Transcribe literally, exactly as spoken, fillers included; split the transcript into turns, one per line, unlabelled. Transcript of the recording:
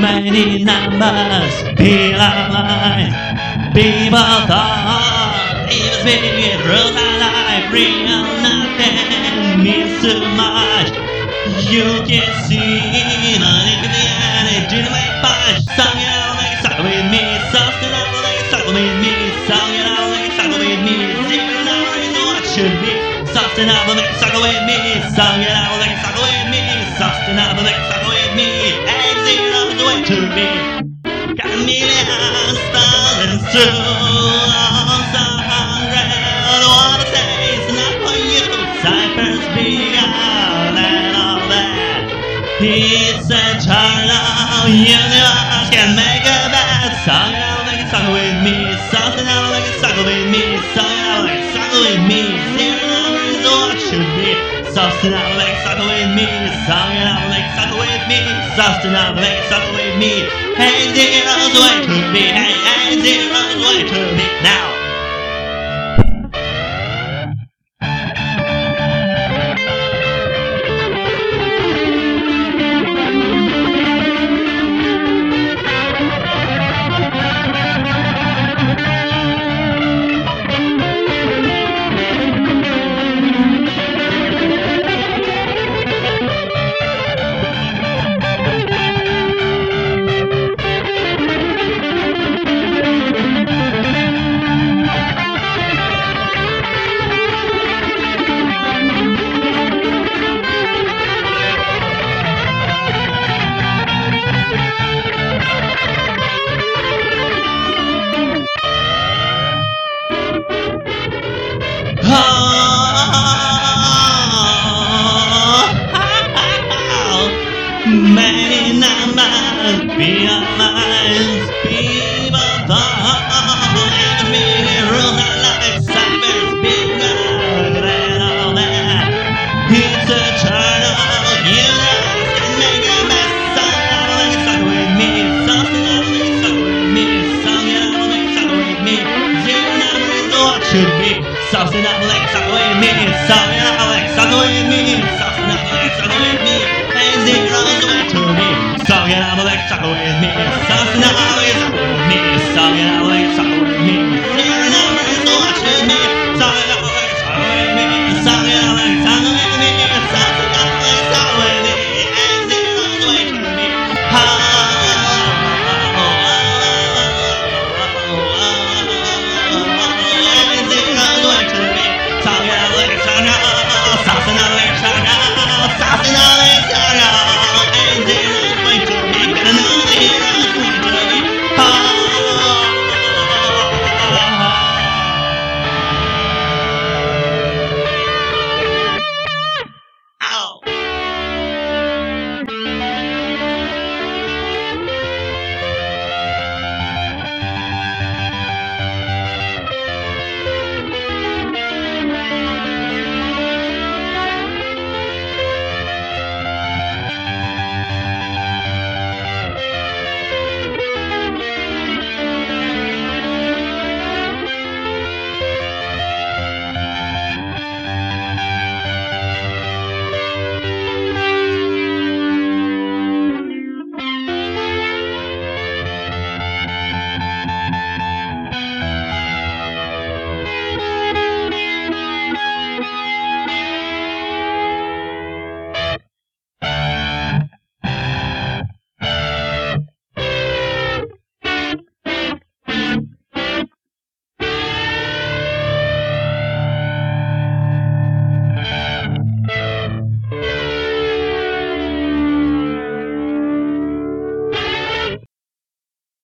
Many numbers feel alive. People thought it was big, rules our life. Real nothing means too much. You can see money in the end, it didn't make much. Song it out like suck with me, something out like suck with me. Song it out like suck with me. Zero number is what should be. Something out like suck with me. Song it out like suck with me. Something out like suck with me. And zero's the way to be. Got a million stolen through arms a hundred. What I say is not for you. Cypher's bigger than all that. It's a eternal universe can make a bad song out like a song with me. Something out like a song with me. Song out like a song with me. Zero is what should be. Something out like a song with me. Song out like a song with me. Something out like a song with me. Hey, zero's way to be. Hey, hey, zero's way to be. Now. Many numbers realize people thought it was me. Rules are like cyber's bigger than all that. It's eternal. You guys can make a mess. Song out like suck with me. Something out like suck with me. Song out like suck with me. Zero number is what should be. Something out like suck with me. Song out like suck with me. Something out like suck with me. And zero's way to me. Song it out like suck with me. Something out like suck with me. Song it out.